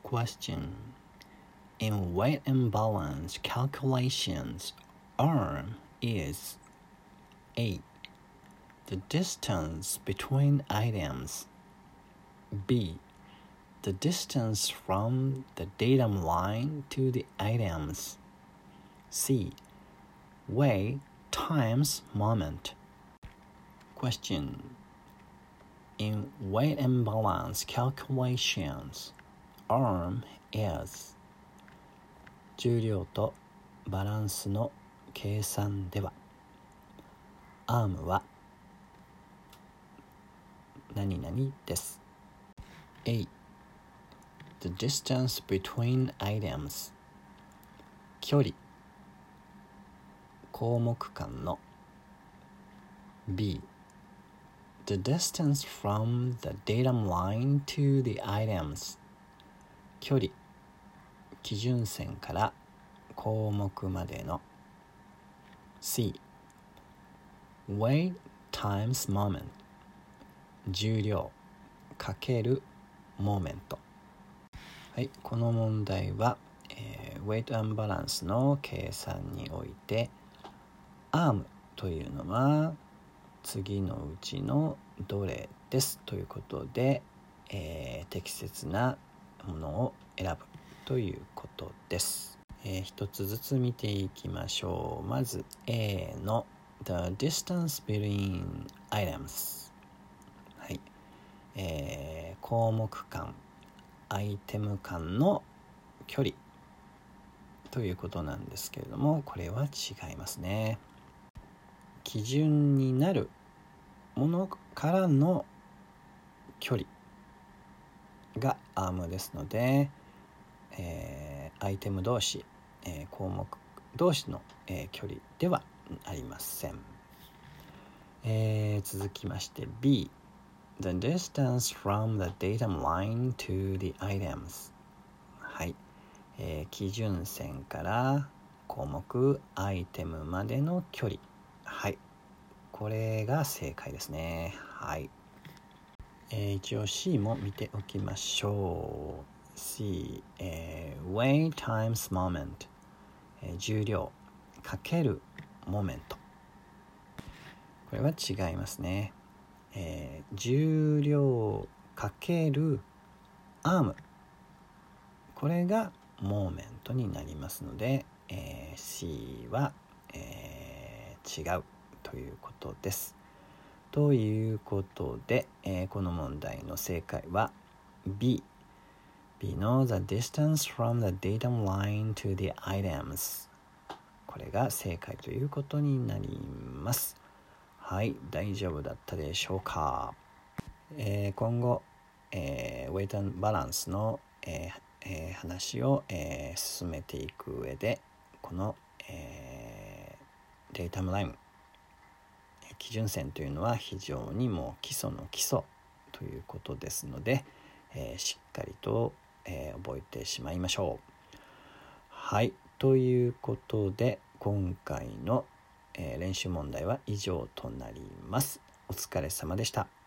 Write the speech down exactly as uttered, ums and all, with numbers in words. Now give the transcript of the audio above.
Question. In weight and balance calculations, arm is A. The distance between items. B. The distance from the datum line to the items. C. Weight times moment. Question. In weight and balance calculations, arm is 重量とバランスの計算では、アームは何々です。A. The distance between items. 距離、項目間の。B. The distance from the datum line to the items. 距離、基準線から項目までの。C. Weight times moment. 重量かけるモーメント。はい、この問題は、えー、weight and balance の計算において、アームというのは次のうちのどれですということで、えー、適切なものを選ぶということです。えー、一つずつ見ていきましょう。まず A の The distance between items、はいえー、項目間、アイテム間の距離ということなんですけれども、これは違いますね。基準になるものからの距離がアームですので、えー、アイテム同士、えー、項目同士の、えー、距離ではありません。えー、続きまして B. The distance from the datum line to the items. はい、えー、基準線から項目アイテムまでの距離。はい、これが正解ですね。はい、えー、一応 C も見ておきましょう。 C、えー、weight times moment、えー、重量かけるモメント。これは違いますね。えー、重量かけるアーム、これがモーメントになりますので、えー、C は、えー、違うということです。ということで、えー、この問題の正解は B。 B の The distance from the datum line to the items、 これが正解ということになります。はい、大丈夫だったでしょうか。えー、今後、えー、ウェイト&バランスの、えーえー、話を、えー、進めていく上で、この、えー、データムライン、基準線というのは非常にもう基礎の基礎ということですので、えー、しっかりと、えー、覚えてしまいましょう。はい、ということで今回の、えー、練習問題は以上となります。お疲れ様でした。